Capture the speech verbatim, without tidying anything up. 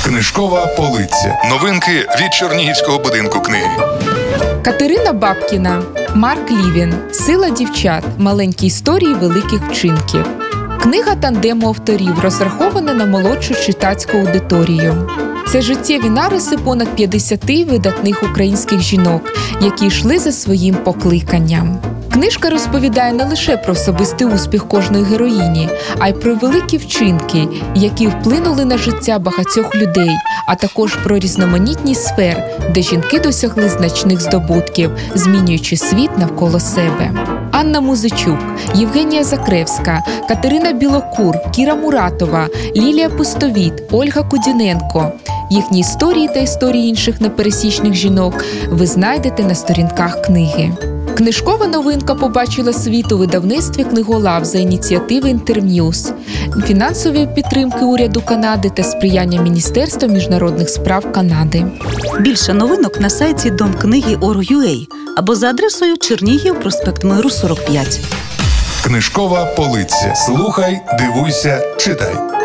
Книжкова полиця. Новинки від Чернігівського будинку книги. Катерина Бабкіна, Марк Лівін. «Сила дівчат. Маленькі історії великих вчинків». Книга тандему авторів, розрахована на молодшу читацьку аудиторію. Це життєві нариси понад п'ятдесяти видатних українських жінок, які йшли за своїм покликанням. Книжка розповідає не лише про особистий успіх кожної героїні, а й про великі вчинки, які вплинули на життя багатьох людей, а також про різноманітність сфер, де жінки досягли значних здобутків, змінюючи світ навколо себе. Анна Музичук, Євгенія Закревська, Катерина Білокур, Кіра Муратова, Лілія Пустовіт, Ольга Кудіненко. Їхні історії та історії інших непересічних жінок ви знайдете на сторінках книги. Книжкова новинка побачила світ у видавництві «Книголав» за ініціативи «Інтерньюз», фінансової підтримки уряду Канади та сприяння Міністерства міжнародних справ Канади. Більше новинок на сайті дом книги точка орг точка ю а або за адресою Чернігів, проспект Миру, сорок п'ять. Книжкова полиця. Слухай, дивуйся, читай.